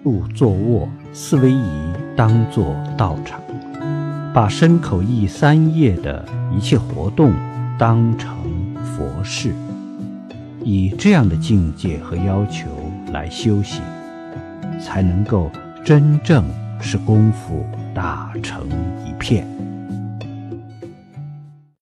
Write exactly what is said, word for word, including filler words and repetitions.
入坐卧，四威仪当作道场，把身口意三业的一切活动当成佛事，以这样的境界和要求来修行，才能够真正使功夫打成一片。